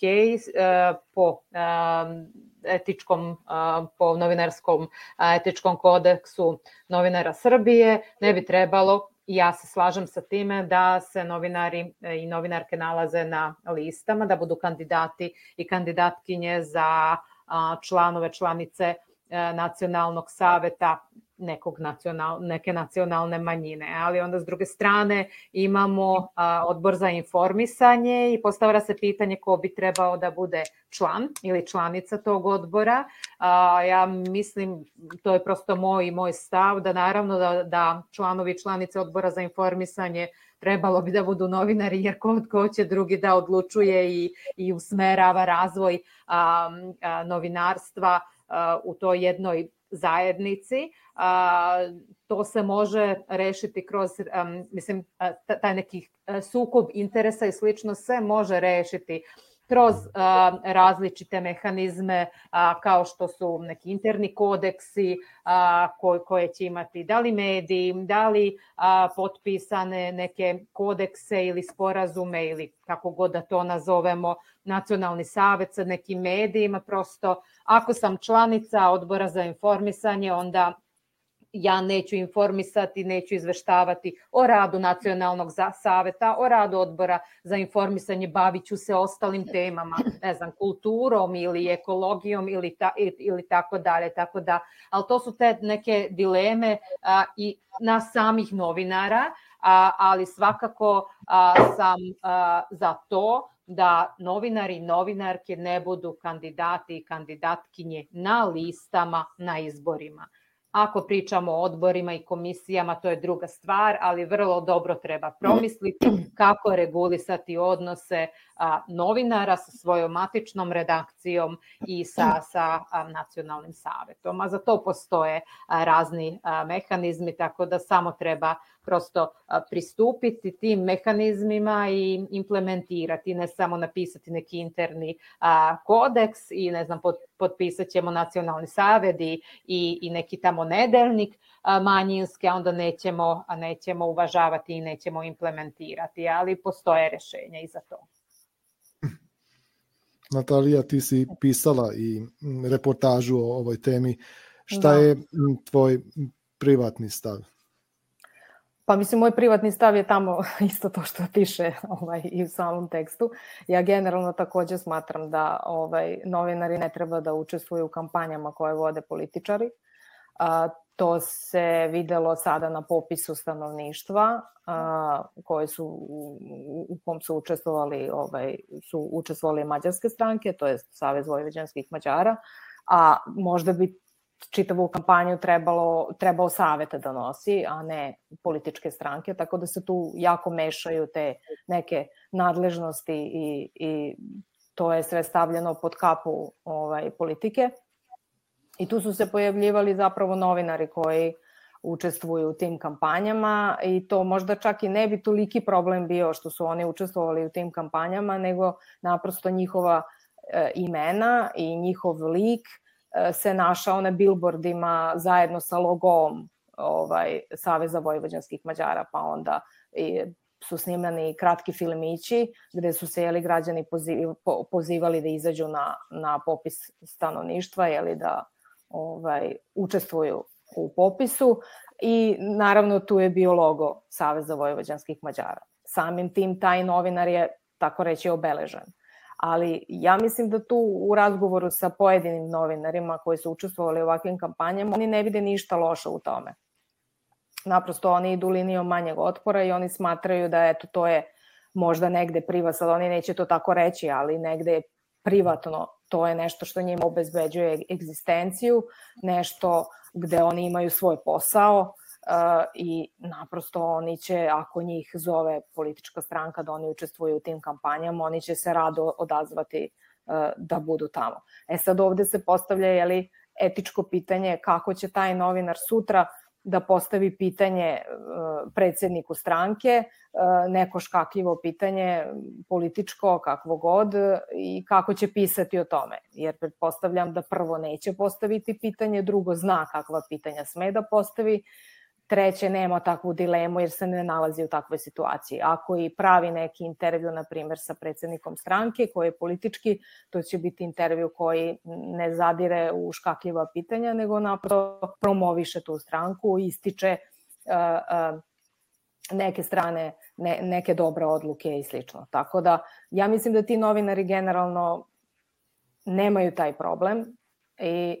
po novinarskom etičkom kodeksu novinara Srbije ne bi trebalo, i ja se slažem sa time, da se novinari i novinarke nalaze na listama, da budu kandidati i kandidatkinje za članove, članice nacionalnog saveta neke nacionalne manjine. Ali onda s druge strane imamo odbor za informisanje i postavlja se pitanje ko bi trebao da bude član ili članica tog odbora. Ja mislim, to je prosto moj stav, da naravno da članovi i članice odbora za informisanje trebalo bi da budu novinari, jer ko će drugi da odlučuje i usmerava razvoj novinarstva u toj jednoj zajednici. To se može rešiti kroz, taj neki sukob interesa i slično se može rešiti kroz različite mehanizme kao što su neki interni kodeksi koje će imati da li mediji, da li potpisane neke kodekse ili sporazume ili kako god da to nazovemo, nacionalni savet sa nekim medijima. Prosto ako sam članica odbora za informisanje, onda ja neću informisati, neću izveštavati o radu nacionalnog saveta, o radu odbora za informisanje, bavit ću se ostalim temama, ne znam, kulturom ili ekologijom ili tako dalje. Tako da, ali to su te neke dileme i nas samih novinara, ali svakako sam za to da novinari i novinarke ne budu kandidati i kandidatkinje na listama na izborima. Ako pričamo o odborima i komisijama, to je druga stvar, ali vrlo dobro treba promisliti kako regulisati odnose novinara sa svojom matičnom redakcijom i sa nacionalnim savetom. A za to postoje razni mehanizmi, tako da samo treba prosto pristupiti tim mehanizmima i implementirati, ne samo napisati neki interni kodeks i ne znam, potpisat ćemo nacionalni savet i neki tamo nedeljnik manjinski, a onda nećemo uvažavati i nećemo implementirati, ali postoje rešenja i za to. Natalija, ti si pisala i reportažu o ovoj temi. Šta je tvoj privatni stav? Pa mislim, moj privatni stav je tamo isto to što piše i u samom tekstu. Ja generalno takođe smatram da novinari ne treba da učestvuju u kampanjama koje vode političari. To se videlo sada na popisu stanovništva koje u kom su učestvovali mađarske stranke, to je Savez vojvođanskih Mađara, a možda bi čitavu kampanju trebao savet da nosi, a ne političke stranke, tako da se tu jako mešaju te neke nadležnosti i to je sve stavljeno pod kapu politike. I tu su se pojavljivali zapravo novinari koji učestvuju u tim kampanjama i to možda čak i ne bi toliki problem bio što su oni učestvovali u tim kampanjama, nego naprosto njihova imena i njihov lik se našao na bilbordima zajedno sa logom Saveza vojvođanskih Mađara, pa onda su snimani kratki filmići gde su se građani pozivali da izađu na popis stanovništva, da učestvuju u popisu i naravno tu je bio logo Saveza vojvođanskih Mađara. Samim tim taj novinar je, tako reći, obeležen. Ali ja mislim da tu u razgovoru sa pojedinim novinarima koji su učestvovali u ovakvim kampanjama, oni ne vide ništa loše u tome. Naprosto oni idu linijom manjeg otpora i oni smatraju da to je možda negde privatno, sad oni neće to tako reći, ali negde je privatno, to je nešto što njima obezbeđuje egzistenciju, nešto gde oni imaju svoj posao i naprosto oni će, ako njih zove politička stranka da oni učestvuju u tim kampanjama, oni će se rado odazvati da budu tamo. Sad ovde se postavlja etičko pitanje kako će taj novinar sutra da postavi pitanje predsedniku stranke, neko škakljivo pitanje, političko, kakvo god, i kako će pisati o tome. Jer pretpostavljam da prvo neće postaviti pitanje, drugo zna kakva pitanja sme da postavi, treće nema takvu dilemu jer se ne nalazi u takvoj situaciji. Ako i pravi neki intervju, na primjer, sa predsednikom stranke koji je politički, to će biti intervju koji ne zadire u škakljiva pitanja, nego naprosto promoviše tu stranku, ističe neke strane, neke dobre odluke i slično. Tako da, ja mislim da ti novinari generalno nemaju taj problem i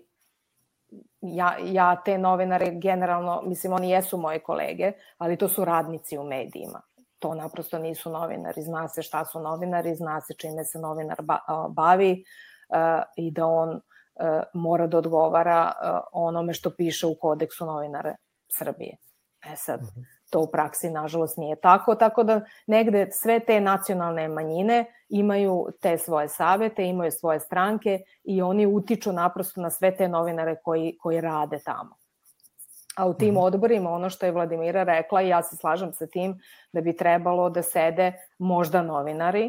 ja te novinare generalno, mislim, oni jesu moje kolege, ali to su radnici u medijima. To naprosto nisu novinari. Zna se šta su novinari, zna se čime se novinar bavi i da on mora da odgovara onome što piše u kodeksu novinara Srbije. Sad, to u praksi, nažalost, nije tako da negde sve te nacionalne manjine imaju te svoje savete, imaju svoje stranke i oni utiču naprosto na sve te novinare koji rade tamo. A u tim odborima, ono što je Vladimira rekla, i ja se slažem sa tim, da bi trebalo da sede možda novinari,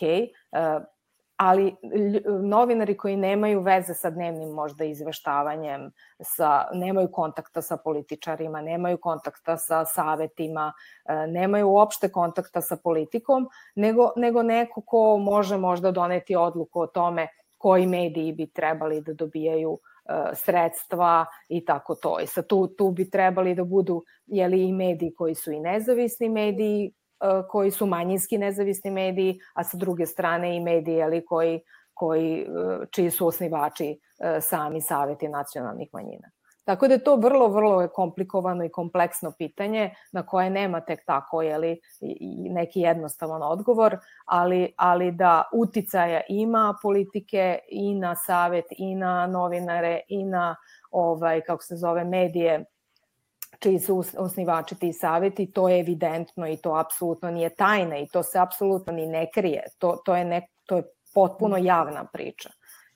ali novinari koji nemaju veze sa dnevnim možda izveštavanjem, nemaju kontakta sa političarima, nemaju kontakta sa savetima, nemaju uopšte kontakta sa politikom, nego neko ko može možda doneti odluku o tome koji mediji bi trebali da dobijaju sredstva i tako to. I sad tu bi trebali da budu i mediji koji su i nezavisni mediji, koji su manjinski nezavisni mediji, a sa druge strane i mediji čiji su osnivači sami saveti nacionalnih manjina. Tako da je to vrlo, vrlo komplikovano i kompleksno pitanje na koje nema tek tako neki jednostavan odgovor, ali da uticaja ima politike i na savet, i na novinare, i na kako se zove, medije čiji su osnivači ti savjeti, to je evidentno i to apsolutno nije tajna i to se apsolutno ni ne krije. To je potpuno javna priča.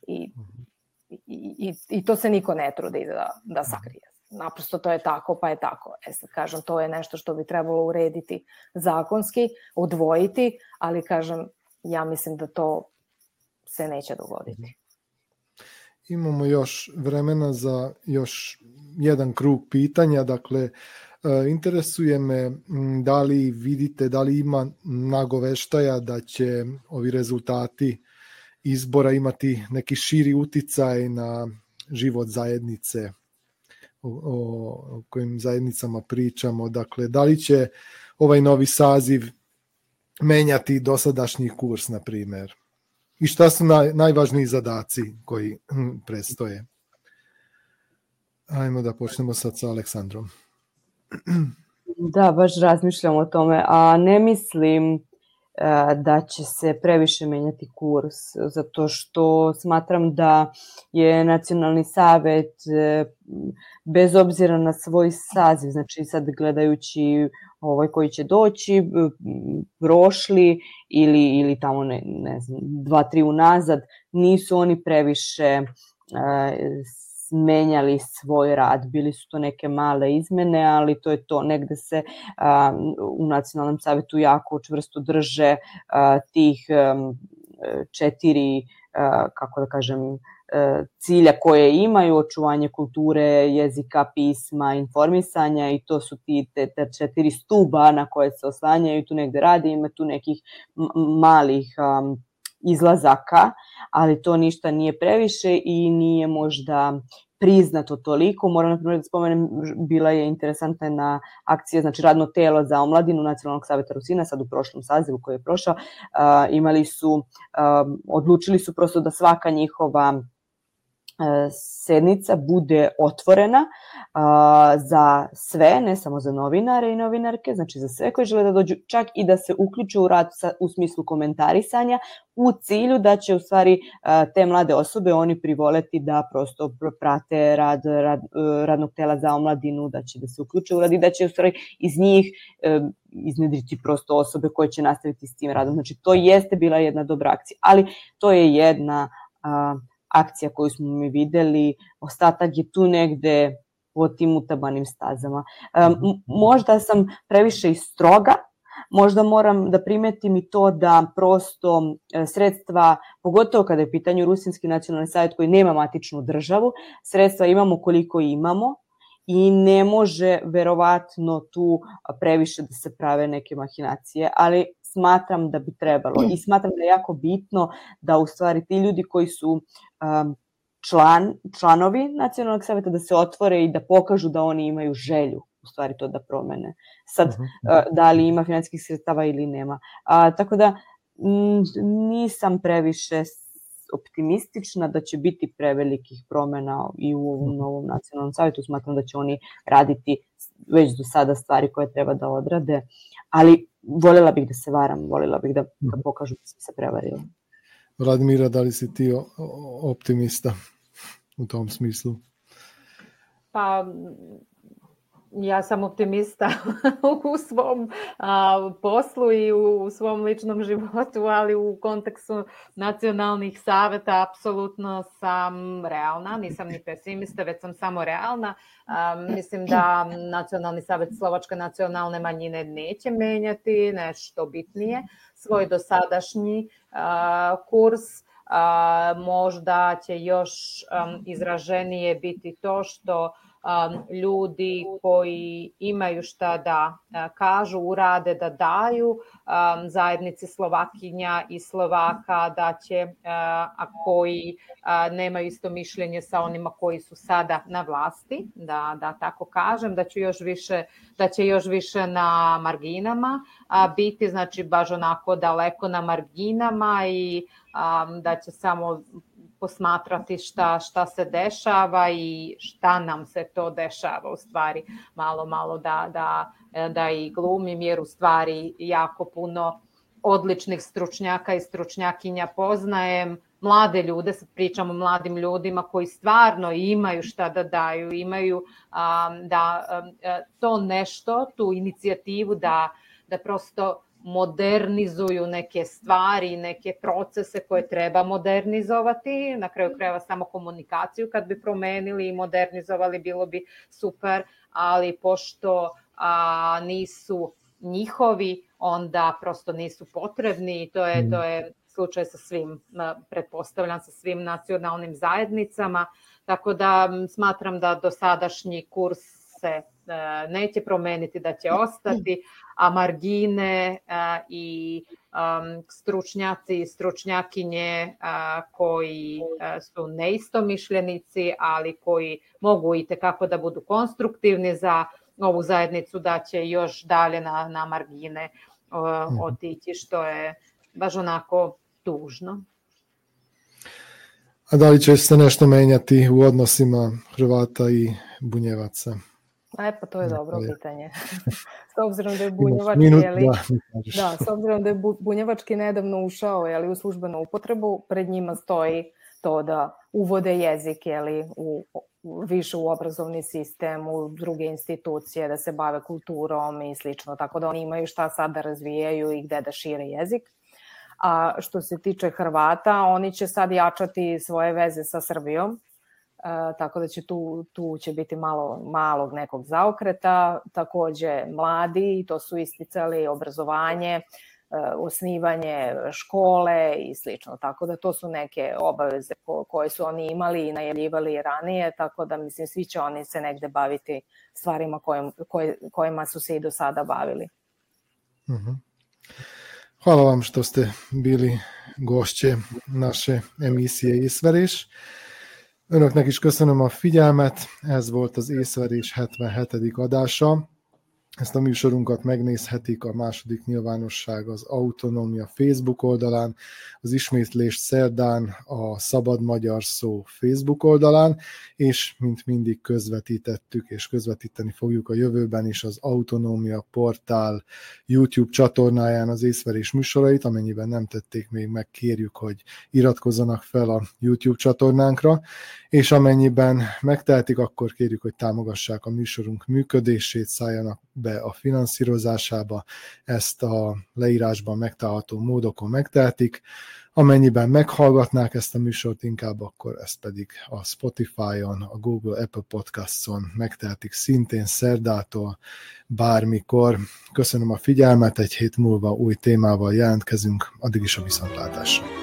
I to se niko ne trudi da sakrije. Naprosto to je tako, pa je tako. Sad kažem, to je nešto što bi trebalo urediti zakonski, odvojiti, ali kažem, ja mislim da to se neće dogoditi. Imamo još vremena za još jedan krug pitanja. Dakle, interesuje me da li vidite, da li ima nagoveštaja da će ovi rezultati izbora imati neki širi uticaj na život zajednice, o kojim zajednicama pričamo. Dakle, da li će ovaj novi saziv menjati dosadašnji kurs, na primjer? I šta su najvažniji zadaci koji predstoje? Ajmo da počnemo sad sa Aleksandrom. Da, baš razmišljam o tome, a ne mislim da će se previše menjati kurs, zato što smatram da je Nacionalni savet, bez obzira na svoj saziv, znači sad gledajući koji će doći, prošli ili tamo ne znam, 2-3 unazad, nisu oni previše menjali svoj rad. Bili su to neke male izmene, ali to je to. Negde se u Nacionalnom savetu jako čvrsto drže tih 4, kako da kažem, cilja koje imaju: očuvanje kulture, jezika, pisma, informisanja, i to su te 4 stuba na koje se oslanjaju. Tu negde radi, ima tu nekih malih izlazaka, ali to ništa nije previše i nije možda priznato toliko. Moram na primjer da spomenem, bila je interesantna akcija, znači radno telo za omladinu Nacionalnog saveta Rusina, sad u prošlom sazivu koji je prošao, odlučili su prosto da svaka njihova sednica bude otvorena za sve, ne samo za novinare i novinarke, znači za sve koji žele da dođu, čak i da se uključe u rad u smislu komentarisanja, u cilju da će u stvari te mlade osobe oni privoleti da prosto prate rad radnog tela za omladinu, da će da se uključe u rad i da će u stvari iz njih iznedriti prosto osobe koje će nastaviti s tim radom. Znači to jeste bila jedna dobra akcija, ali to je jedna akcija koju smo mi videli, ostatak je tu negde po tim utabanim stazama. Možda sam previše i stroga, možda moram da primetim i to da prosto sredstva, pogotovo kada je u pitanju Rusinski nacionalni savjet koji nema matičnu državu, sredstva imamo koliko imamo i ne može verovatno tu previše da se prave neke mahinacije, ali smatram da bi trebalo i smatram da je jako bitno da u stvari ti ljudi koji su članovi Nacionalnog savjeta da se otvore i da pokažu da oni imaju želju u stvari to da promene. Sad, da li ima finansijskih sredstava ili nema. Tako da nisam previše optimistična da će biti prevelikih promena i u ovom novom Nacionalnom savjetu. Smatram da će oni raditi već do sada stvari koje treba da odrade, ali voljela bih da se varam, voljela bih da pokažu da sam se prevarila. Vladimira, da li si ti optimista u tom smislu? Pa, ja sam optimista u svom poslu i u svom ličnom životu, ali u kontekstu nacionalnih saveta apsolutno sam realna, nisam ni pesimista, već sam samo realna. Mislim da Nacionalni savet Slovačke nacionalne manjine neće menjati nešto bitnije, svoj dosadašnji kurs. Možda će još izraženije biti to što ljudi koji imaju šta da kažu, urade, da daju zajednici Slovakinja i Slovaka, da će, a koji nemaju isto mišljenje sa onima koji su sada na vlasti, da tako kažem, da će još više na marginama biti, znači baš onako daleko na marginama i da će samo posmatrati šta se dešava i šta nam se to dešava u stvari, malo da i glumim, jer u stvari jako puno odličnih stručnjaka i stručnjakinja poznajem, mlade ljude, sad pričamo o mladim ljudima koji stvarno imaju šta da daju, imaju to nešto, tu inicijativu da prosto modernizuju neke stvari, neke procese koje treba modernizovati, na kraju krajeva samo komunikaciju kad bi promenili i modernizovali bilo bi super, ali pošto nisu njihovi, onda prosto nisu potrebni i to je slučaj sa svim, pretpostavljam, sa svim nacionalnim zajednicama, tako da smatram da dosadašnji kurs se neće promeniti, da će ostati, a margine i stručnjaci i stručnjakinje koji su neistomišljenici, ali koji mogu i tekako da budu konstruktivni za ovu zajednicu, da će još dalje na margine otići, što je baš onako tužno. A da li će se nešto menjati u odnosima Hrvata i Bunjevaca? Pa to je dobro pitanje. S obzirom da je bunjevački nedavno ušao u službenu upotrebu, pred njima stoji to da uvode jezik više u obrazovni sistem, u druge institucije, da se bave kulturom i slično, tako da oni imaju šta sad da razvijaju i gde da šire jezik. A što se tiče Hrvata, oni će sad jačati svoje veze sa Srbijom, tako da će tu će biti malog nekog zaokreta, takođe mladi, to su isticali, obrazovanje, osnivanje škole i slično, tako da to su neke obaveze koje su oni imali i najavljivali ranije, tako da mislim svi će oni se negde baviti stvarima kojima su se i do sada bavili. Hvala vam što ste bili gosztje naše emiszié Észverés. Önöknek is köszönöm a figyelmet, ez volt az Észverés 77. adása. Ezt a műsorunkat megnézhetik a második nyilvánosság az Autonómia Facebook oldalán, az ismétlést szerdán a Szabad Magyar Szó Facebook oldalán, és mint mindig közvetítettük, és közvetíteni fogjuk a jövőben is az Autonómia portál YouTube csatornáján az Észverés műsorait, amennyiben nem tették még meg, kérjük, hogy iratkozzanak fel a YouTube csatornánkra, és amennyiben megtehetik, akkor kérjük, hogy támogassák a műsorunk működését, szálljanak be a finanszírozásába, ezt a leírásban megtalálható módokon megtehetik. Amennyiben meghallgatnák ezt a műsort inkább, akkor ezt pedig a Spotify-on, a Google, Apple Podcasts-on megtehetik szintén szerdától bármikor. Köszönöm a figyelmet, egy hét múlva új témával jelentkezünk, addig is a viszontlátásra.